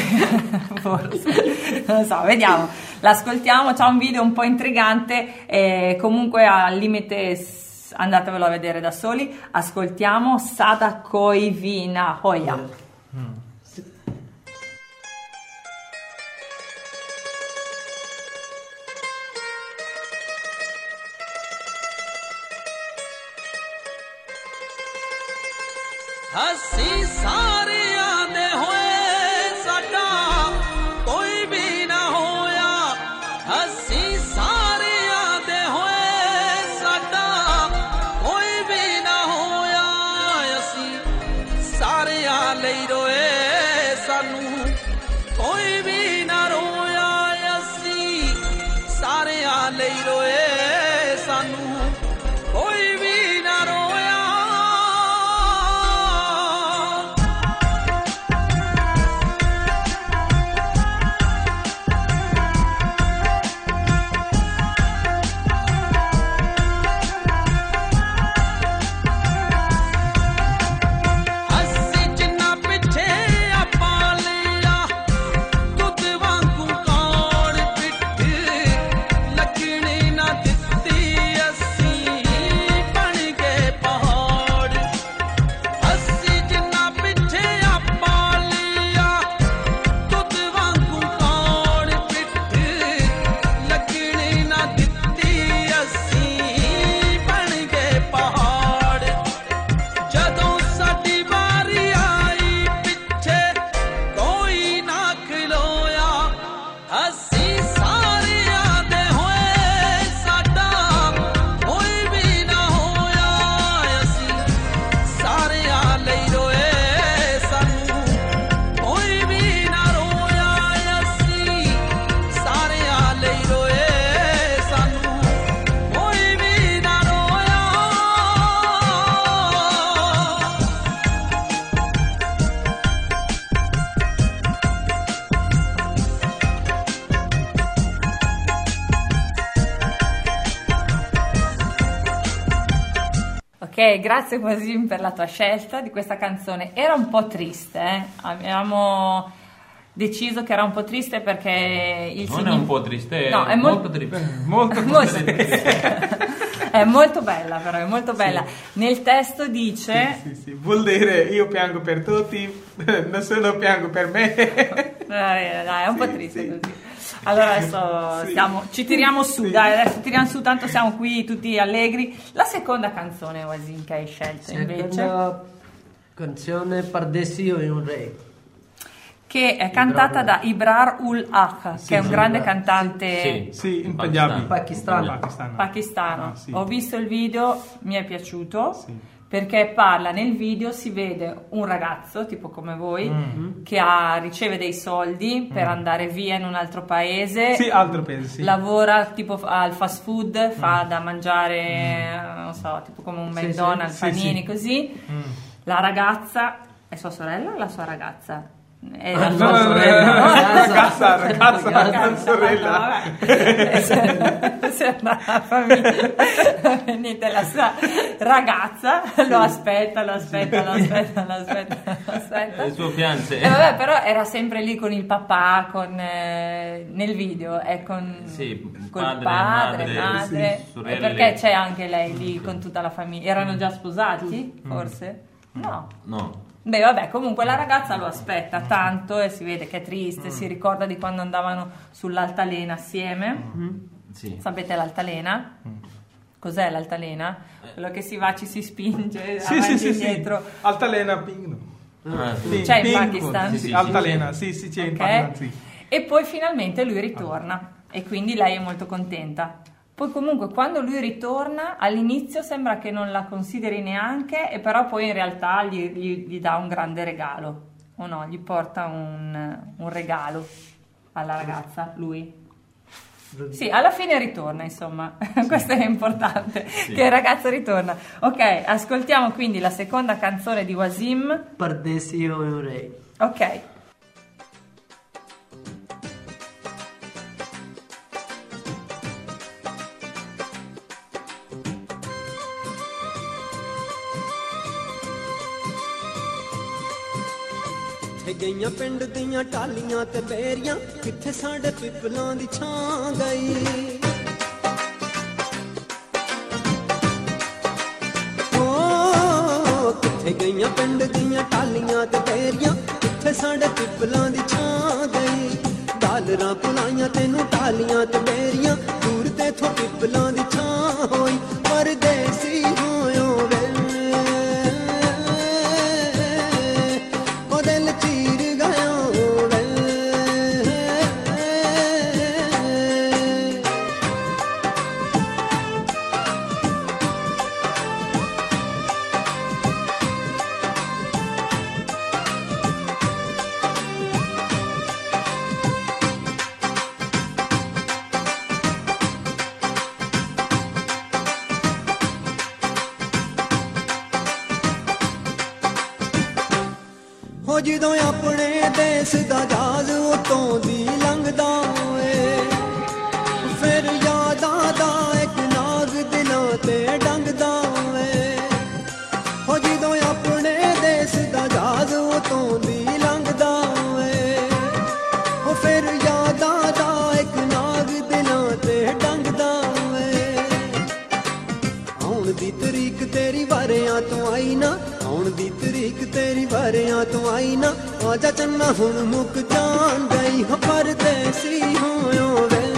forse. Non lo so, vediamo. L'ascoltiamo, c'ha un video un po' intrigante e comunque al limite s- andatevelo a vedere da soli. Ascoltiamo Sada Koi Vina Hoya. ਅਸੀਂ ਸਾਰਿਆਂ ਦੇ ਹੋਏ ਸਾਡਾ ਕੋਈ ਵੀ ਨਾ ਹੋਇਆ ਅਸੀਂ ਸਾਰਿਆਂ ਦੇ ਹੋਏ ਸਾਡਾ ਕੋਈ ਵੀ ਨਾ ਹੋਇਆ ਅਸੀਂ ਸਾਰਿਆਂ ਲਈ ਰੋਏ ਸਾਨੂੰ ਕੋਈ ਵੀ ਨਾ ਰੋਇਆ ਅਸੀਂ ਸਾਰਿਆਂ ਲਈ ਰੋਏ ਸਾਨੂੰ ਕੋਈ ਵੀ ਨਾ ਰੋਇਆ ਅਸੀਂ ਜਿੰਨਾ ਪਿੱਛੇ ਆਪਾਂ ਲਿਆ Ok, grazie Wasim per la tua scelta di questa canzone. Era un po' triste, eh? Abbiamo deciso che era un po' triste perché il Non signi- è un po' triste, No, è, è mol- molto triste. Molto Molto è molto bella, però è molto bella. Nel testo dice Sì, sì, vuol dire io piango per tutti, nessuno piango per me. Dai, dai, è un po' Sì, triste sì. così. Allora adesso Sì. stiamo, ci tiriamo su, Sì. dai, adesso tiriamo su, tanto siamo qui tutti allegri. La seconda canzone, Wasim, che hai scelto invece, Seconda canzone Pardesi io e un re. che è cantata da Ibrar ul Haq, che è un sì, grande Ibrar. cantante Sì. Sì, in Pakistan. Punjabi. Pakistan. Pakistano. pakistano. Ah, sì. Ho visto il video, mi è piaciuto. Sì. Perché parla, nel video si vede un ragazzo, tipo come voi, Mm. che ha, riceve dei soldi per andare via in un altro paese. Sì, altro paese, sì. Lavora tipo al fast food, fa da mangiare, non so, tipo come un Sì, McDonald's, sì, sì, panini sì. così. Mm. La ragazza è sua sorella o la sua ragazza? È Ah, la no, sua no, no, sorella, no, no? ragazza, ragazza, Ragazza, sorella. vabbè. Se- se una famiglia, niente, la sua ragazza lo aspetta, lo aspetta, lo aspetta, lo aspetta, lo aspetta. Il suo fiance. E vabbè, però era sempre lì con il papà, con, eh, nel video, è con Sì, col padre, padre, madre, madre, sì, e sorelle. perché c'è anche lei lì con tutta la famiglia. Erano già sposati, forse? No. No. Beh, vabbè, comunque la ragazza lo aspetta tanto e si vede che è triste, si ricorda di quando andavano sull'altalena assieme. Sì. Sapete l'altalena? Cos'è l'altalena? Quello che si va, ci si spinge Sì, avanti sì, e sì, sì. indietro. Altalena Ping. Ah, sì. Sì, C'è in Ping, Pakistan? Sì, Sì, sì, sì, Altalena, sì, sì, c'è in Ok? Pakistan, sì. E poi finalmente lui ritorna e quindi lei è molto contenta. Poi comunque quando lui ritorna all'inizio sembra che non la consideri neanche, e però poi in realtà gli, gli- gli dà un grande regalo, o no? Gli porta un, un regalo alla ragazza, lui. Sì, alla fine ritorna, insomma, questo è importante, che il ragazzo ritorna. Ok, ascoltiamo quindi la seconda canzone di Wasim. Pardesi io e un re. Ok. ਕਿੱਥੇ ਗਈਆਂ ਪਿੰਡ ਦੀਆਂ ਟਾਲੀਆਂ ਤੇ ਬੇਰੀਆਂ ਕਿੱਥੇ ਸਾਡੇ ਪਿੱਪਲਾਂ ਦੀ ਛਾਂ ਗਈ ਓ ਕਿੱਥੇ ਗਈਆਂ ਪਿੰਡ ਦੀਆਂ ਟਾਲੀਆਂ ਤੇ ਬੇਰੀਆਂ ਕਿੱਥੇ ਸਾਡੇ ਪਿੱਪਲਾਂ ਦੀ ਛਾਂ ਗਈ ਡਾਲਰਾਂ ਪੁਲਾਈਆਂ ਤੈਨੂੰ ਟਾਲੀਆਂ ਤੇ ਬੇਰੀਆਂ ਦੂਰ ਤੇ ਥੋਂ ਪਿੱਪਲਾਂ ਦੀ ਛਾਂ ਹੋਈ ਪਰਦੇਸੀ ਹੋਇਓ ਵੇ ਉਹ ਦਿਲ ਚੀਰ ਗਿਆ ਵੇ ਹੋ ਜਦੋਂ ਆਪਣੇ ਦੇਸ ਦਾ ਜਹਾਜ਼ ਉਤੋਂ ਦੀ ਲੰਘਦਾ ਏ ਫਿਰ ਯਾਦਾਂ ਦਾ ਇੱਕ ਨਾਗ ਦਿਲਾਂ ਤੇ ਡੰਗਦਾ ਏ ਹੋ ਜਦੋਂ ਆਪਣੇ ਦੇਸ ਦਾ ਜਹਾਜ਼ ਉਤੋਂ ਦੀ ਲੰਘਦਾ ਏ ਉਹ ਫਿਰ ਯਾਦਾਂ ਦਾ ਇੱਕ ਨਾਗ ਦਿਲਾਂ ਤੇ ਡੰਗਦਾ ਏ ਆਉਣ ਦੀ ਤਰੀਕ ਤੇਰੀ ਵਾਰਿਆਂ ਤੋਂ ਆਈ ਨਾ ਆਉਣ ਦੀ ਤਰੀਕ ਤੇਰੀ ਵਾਰਿਆਂ ਤੋਂ ਆਈ ਨਾ ਆਜਾ ਚੰਨਾ ਹੁਣ ਮੁੱਕ ਜਾਣ ਗਈ ਹੋ ਪਰਦੇਸੀ ਹੋਇਓ ਵੇ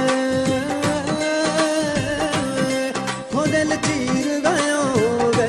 ਹੋ ਦਿਲ ਚੀਰ ਗਿਆ ਵੇ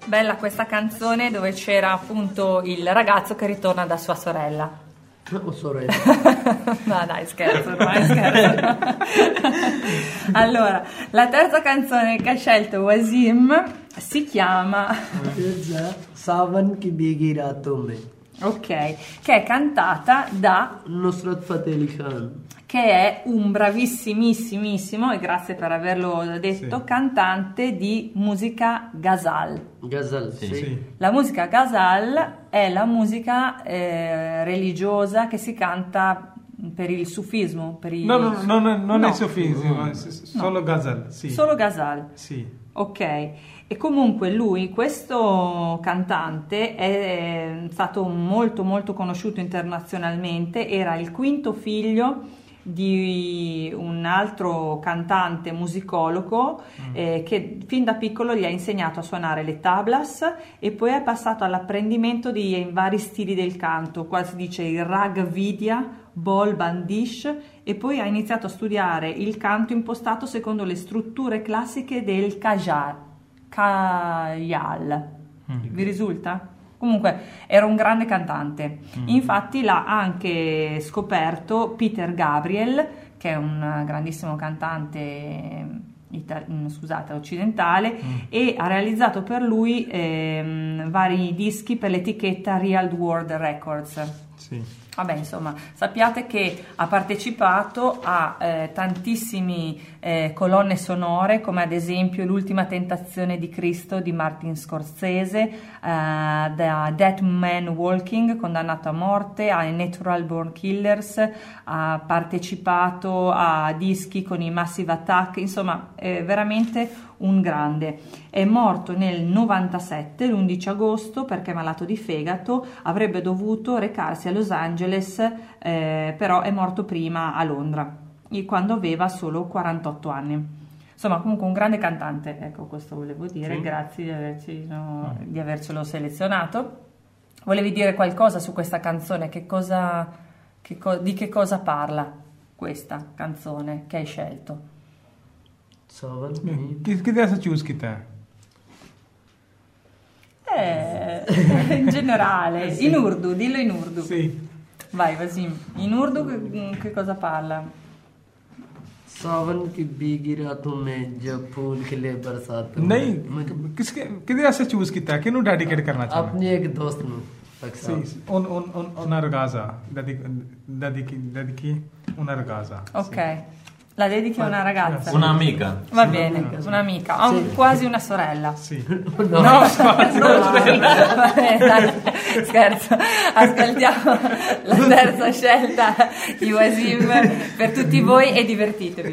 Bella questa canzone dove c'era appunto il ragazzo che ritorna da sua sorella. Oh, sorella. No dai, scherzo, ormai scherzo. Allora, la terza canzone che ha scelto Wasim si chiama Sawan ki bhigi raton mein. Ok, che è cantata da Nusrat Fateh Ali Khan, che è un bravissimissimo, e grazie per averlo detto, Sì. cantante di musica ghazal. Ghazal, sì. Sì. La musica ghazal è la musica eh, religiosa che si canta per il sufismo, per il... No, no, no, no, non No. è sufismo, è s- solo ghazal, sì. Solo ghazal. Sì. Ok, e comunque lui, questo cantante, è stato molto molto conosciuto internazionalmente, era il quinto figlio di un altro cantante musicologo eh, che fin da piccolo gli ha insegnato a suonare le tablas e poi è passato all'apprendimento di vari stili del canto, qua si dice il rag vidya, bol bandish, e poi ha iniziato a studiare il canto impostato secondo le strutture classiche del kajal. Kajal. Vi risulta? Comunque era un grande cantante. Infatti l'ha anche scoperto Peter Gabriel, che è un grandissimo cantante ita- scusate, occidentale, e ha realizzato per lui ehm, vari dischi per l'etichetta Real World Records. Sì. Vabbè, insomma, sappiate che ha partecipato a eh, tantissimi eh, colonne sonore, come ad esempio L'ultima tentazione di Cristo di Martin Scorsese, eh, The Dead Man Walking, condannato a morte, a Natural Born Killers, ha partecipato a dischi con i Massive Attack, insomma, è veramente un grande. È morto nel novantasette, l'undici agosto, perché malato di fegato, avrebbe dovuto recarsi a Los Angeles, eh, però è morto prima a Londra, quando aveva solo quarantotto anni. Insomma, comunque un grande cantante, ecco, questo volevo dire, Sì. grazie di, averci, no, di avercelo selezionato. Volevi dire qualcosa su questa canzone? Che cosa, che co- di che cosa parla questa canzone che hai scelto? Sawan किस किधर से चूज किया है? Eh, in generale, in urdu, dillo in urdu. Sì. Vai Wasim, in urdu che, che cosa parla? सावन की भीगी रातों में जब फूल खिले बरसातों में। नहीं किसके किधर से चूज किया है? किन्हों डेडिकेट करना चाहिए? अपने एक दोस्त ਨੂੰ Sì, sì. Un, un, un, una ragazza dedichi, dedichi, dedichi una ragazza. Ok, la dedichi a una ragazza? Un'amica. Va bene, un'amica, a un- quasi una sorella. Sì. No, no, Va bene, dai, scherzo. Ascoltiamo la terza scelta di Wasim per tutti voi e divertitevi.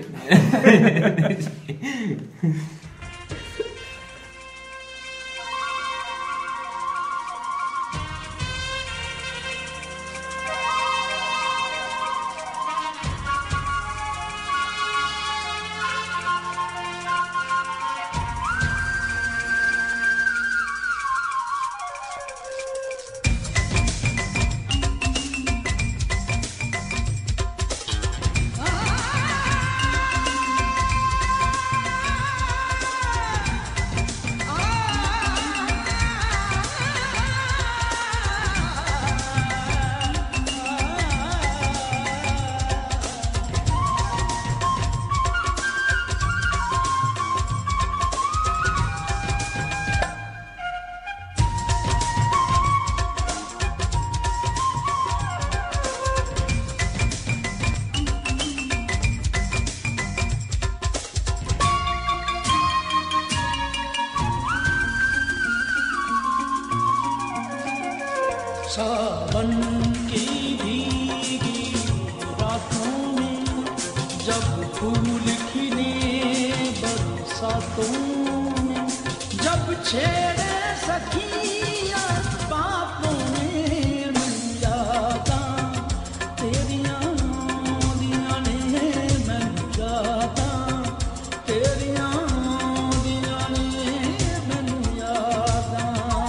सावन की भीगी रातों में जब फूल खिले बरसातों में जब छेड़े सखिया बातों में मिल जाता तेरियां दियां ने मिल जाता तेरियां दियां ने मिल जाता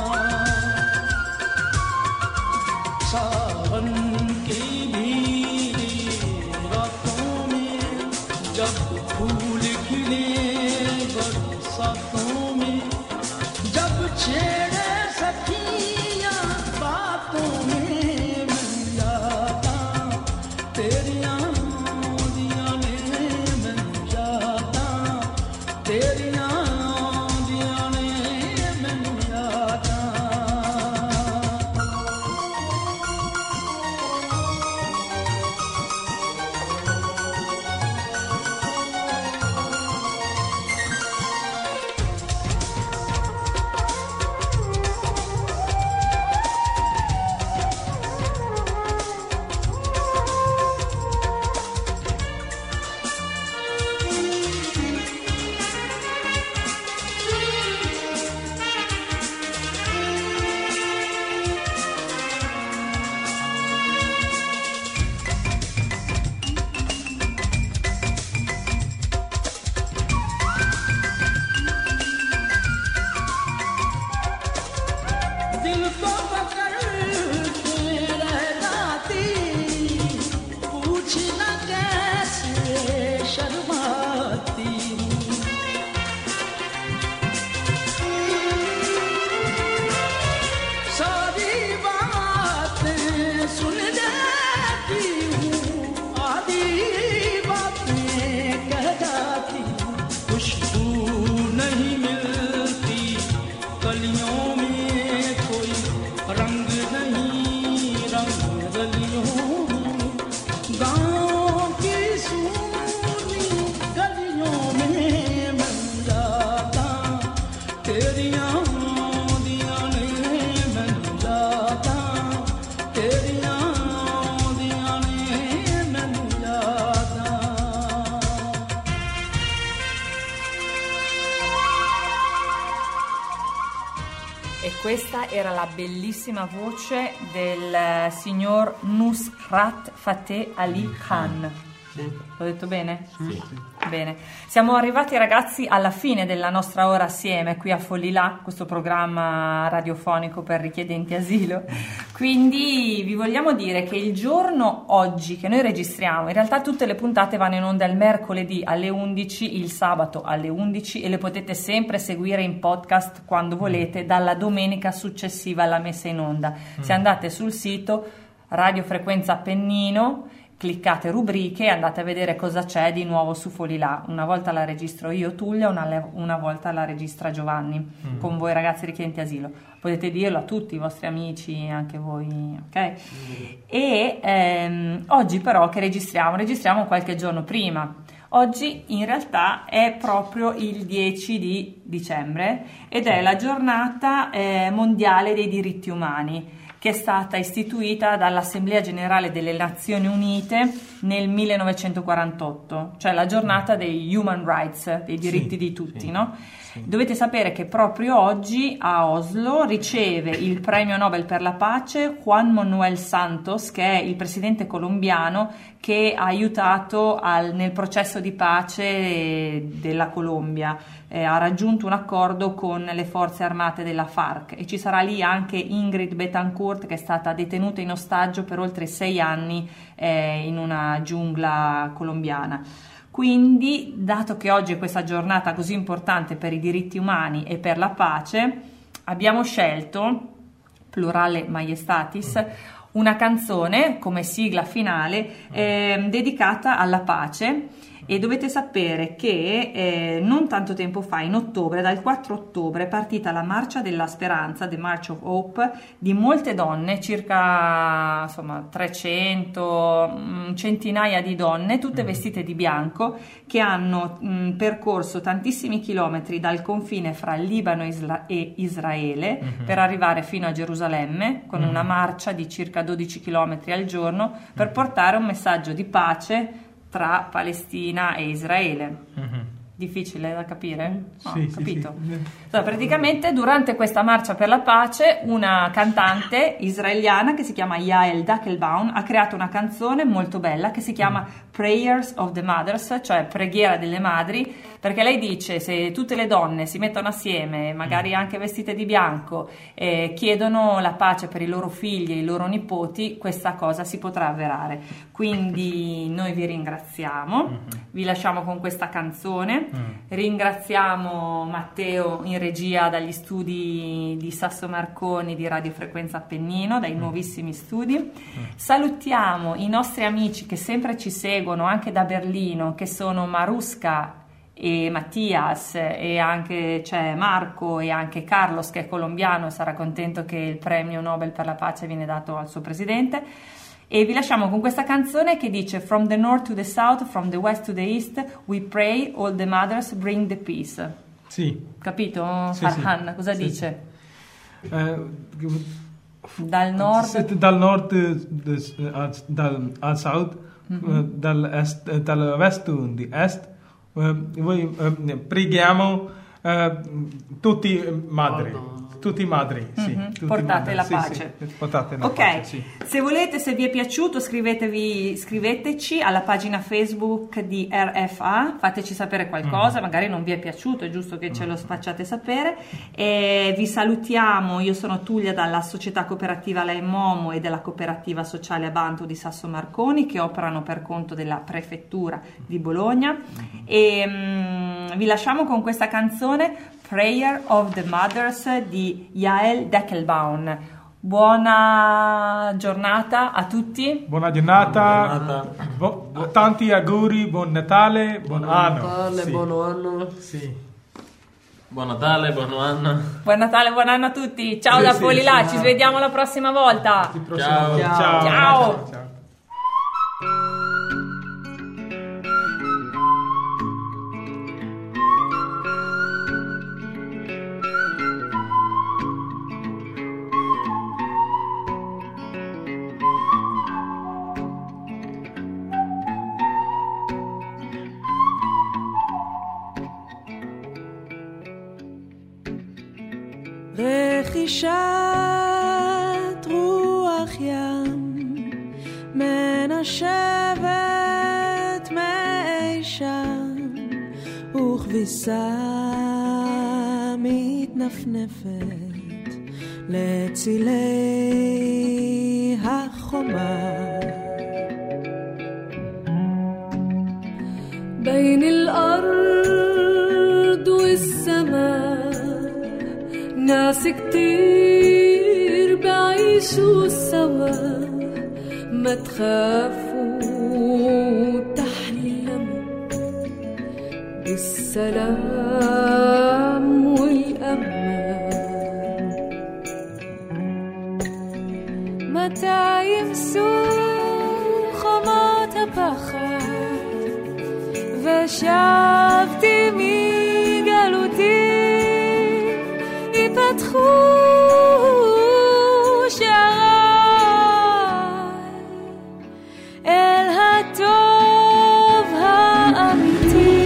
सावन की भीगी रातों में जब फूल खिले बरसातों में जब छे Questa era la bellissima voce del signor Nusrat Fateh Ali Khan. L'ho detto bene? Sì. Bene. Siamo arrivati, ragazzi, alla fine della nostra ora assieme qui a Follilà, questo programma radiofonico per richiedenti asilo. Quindi vi vogliamo dire che il giorno oggi che noi registriamo, in realtà tutte le puntate vanno in onda il mercoledì alle undici, il sabato alle undici, e le potete sempre seguire in podcast quando volete dalla domenica successiva alla messa in onda. Se andate sul sito Radio Frequenza Appennino, cliccate rubriche e andate a vedere cosa c'è di nuovo su Follilà. Una volta la registro io, Tullia, una, una volta la registra Giovanni, mm. con voi ragazzi richiedenti asilo. Potete dirlo a tutti i vostri amici, anche voi, ok? Mm. E ehm, oggi però che registriamo? Registriamo qualche giorno prima. Oggi in realtà è proprio il dieci di dicembre ed è la giornata eh, mondiale dei diritti umani, che è stata istituita dall'Assemblea Generale delle Nazioni Unite nel millenovecentoquarantotto, cioè la giornata dei human rights, dei diritti sì, di tutti, sì, no? Sì. Dovete sapere che proprio oggi a Oslo riceve il premio Nobel per la pace Juan Manuel Santos, che è il presidente colombiano che ha aiutato al, nel processo di pace della Colombia. Eh, ha raggiunto un accordo con le forze armate della FARC e ci sarà lì anche Ingrid Betancourt, che è stata detenuta in ostaggio per oltre sei anni eh, in una giungla colombiana. Quindi, dato che oggi è questa giornata così importante per i diritti umani e per la pace, abbiamo scelto, plurale maiestatis, una canzone come sigla finale eh, dedicata alla pace. E dovete sapere che eh, non tanto tempo fa, in ottobre, dal quattro ottobre, è partita la Marcia della Speranza, The March of Hope, di molte donne, circa insomma trecento, mh, centinaia di donne, tutte vestite di bianco, che hanno mh, percorso tantissimi chilometri dal confine fra Libano e, Isla- e Israele mm-hmm. per arrivare fino a Gerusalemme, con mm-hmm. una marcia di circa dodici chilometri al giorno, per portare un messaggio di pace tra Palestina e Israele. Mm-hmm. Difficile da capire? No, sì, capito? Sì, sì. Allora, praticamente durante questa marcia per la pace una cantante israeliana che si chiama Yael Dackelbaum ha creato una canzone molto bella che si chiama mm. Prayers of the Mothers, cioè preghiera delle madri, perché lei dice: se tutte le donne si mettono assieme, magari anche vestite di bianco, e chiedono la pace per i loro figli e i loro nipoti, questa cosa si potrà avverare. Quindi noi vi ringraziamo, mm-hmm. vi lasciamo con questa canzone. Mm. Ringraziamo Matteo in regia dagli studi di Sasso Marconi di Radio Frequenza Appennino, dai mm. nuovissimi studi. Mm. Salutiamo i nostri amici che sempre ci seguono anche da Berlino, che sono Maruska e Mattias, e anche c'è Marco e anche Carlos, che è colombiano e sarà contento che il premio Nobel per la pace viene dato al suo presidente. E vi lasciamo con questa canzone che dice: From the north to the south, from the west to the east, we pray all the mothers bring the peace. Sì. Capito? Sì, Farhan, sì. cosa sì, dice? Sì. Uh, dal nord dal nord uh, dal, al south, mm-hmm. uh, dal, est, uh, dal west di est, uh, voi uh, preghiamo uh, tutti madri. Oh, no. Tutti madri, sì. Mm-hmm. Tutti Portate madri. la Sì, pace. Sì, portate la ok, pace, sì. Se volete, se vi è piaciuto, scrivetevi, scriveteci alla pagina Facebook di R F A, fateci sapere qualcosa, mm. magari non vi è piaciuto, è giusto che ce lo facciate sapere. E vi salutiamo, io sono Tullia dalla Società Cooperativa La Momo e della Cooperativa Sociale Abantu di Sasso Marconi, che operano per conto della Prefettura di Bologna. Mm. E um, vi lasciamo con questa canzone, Prayer of the Mothers di Yael Dackelbaum. Buona giornata a tutti. Buona giornata, buona giornata. Bu- tanti auguri, buon Natale, buon, buon anno. Natale, sì. buon anno. Sì. Buon Natale, buon anno. Buon Natale, buon anno a tutti. Ciao sì, da sì, Follilà, sì, ci vediamo la prossima volta. Ciao. Ciao. Ciao. Ciao. Ciao. לכי נשישת רוח ים מנשבת מאי שם וכביסה מתנפנפת לצילי החומה بين الأرض والسماء ناس كتير بعيشوا سوا ما تخافوا تحلموا بالسلام والأمان متى يمسوا خمات بخات ושבתי מגלותי יפתחו שעריי אל הטוב האמיתי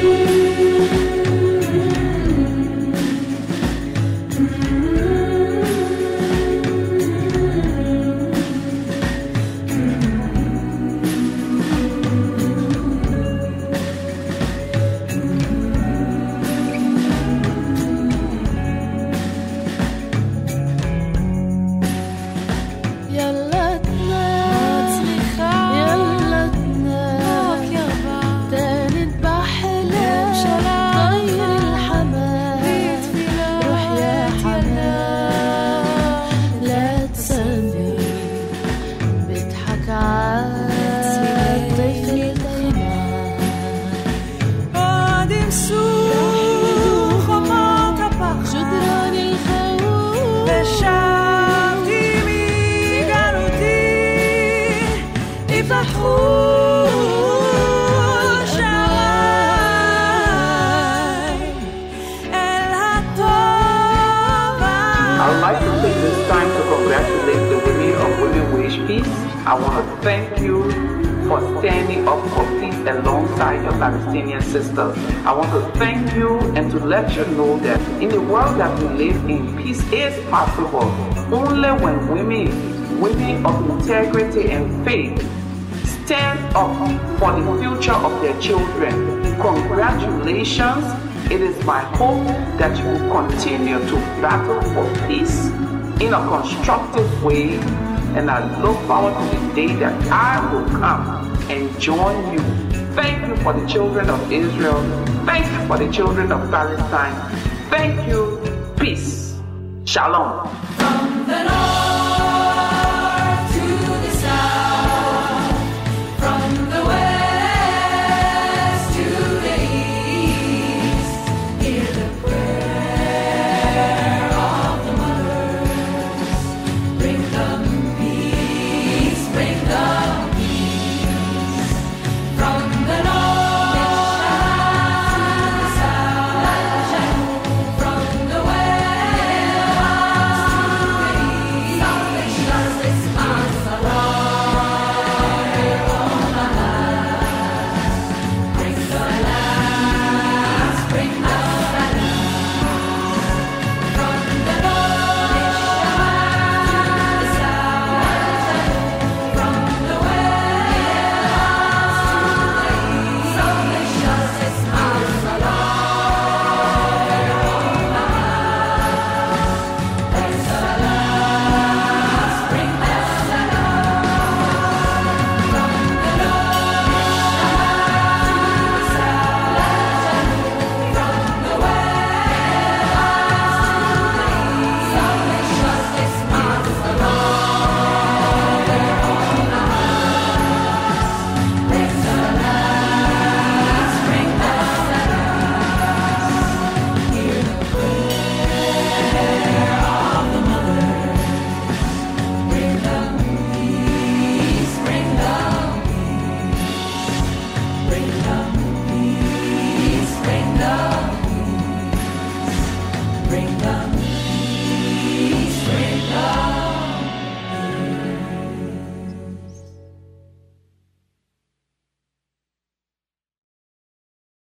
I want to thank you for standing up for peace alongside your Palestinian sisters. I want to thank you and to let you know that in the world that we live in, peace is possible only when women, women of integrity and faith, stand up for the future of their children. Congratulations. It is my hope that you will continue to battle for peace in a constructive way. And I look forward to the day that I will come and join you. Thank you for the children of Israel. Thank you for the children of Palestine. Thank you. Peace. Shalom.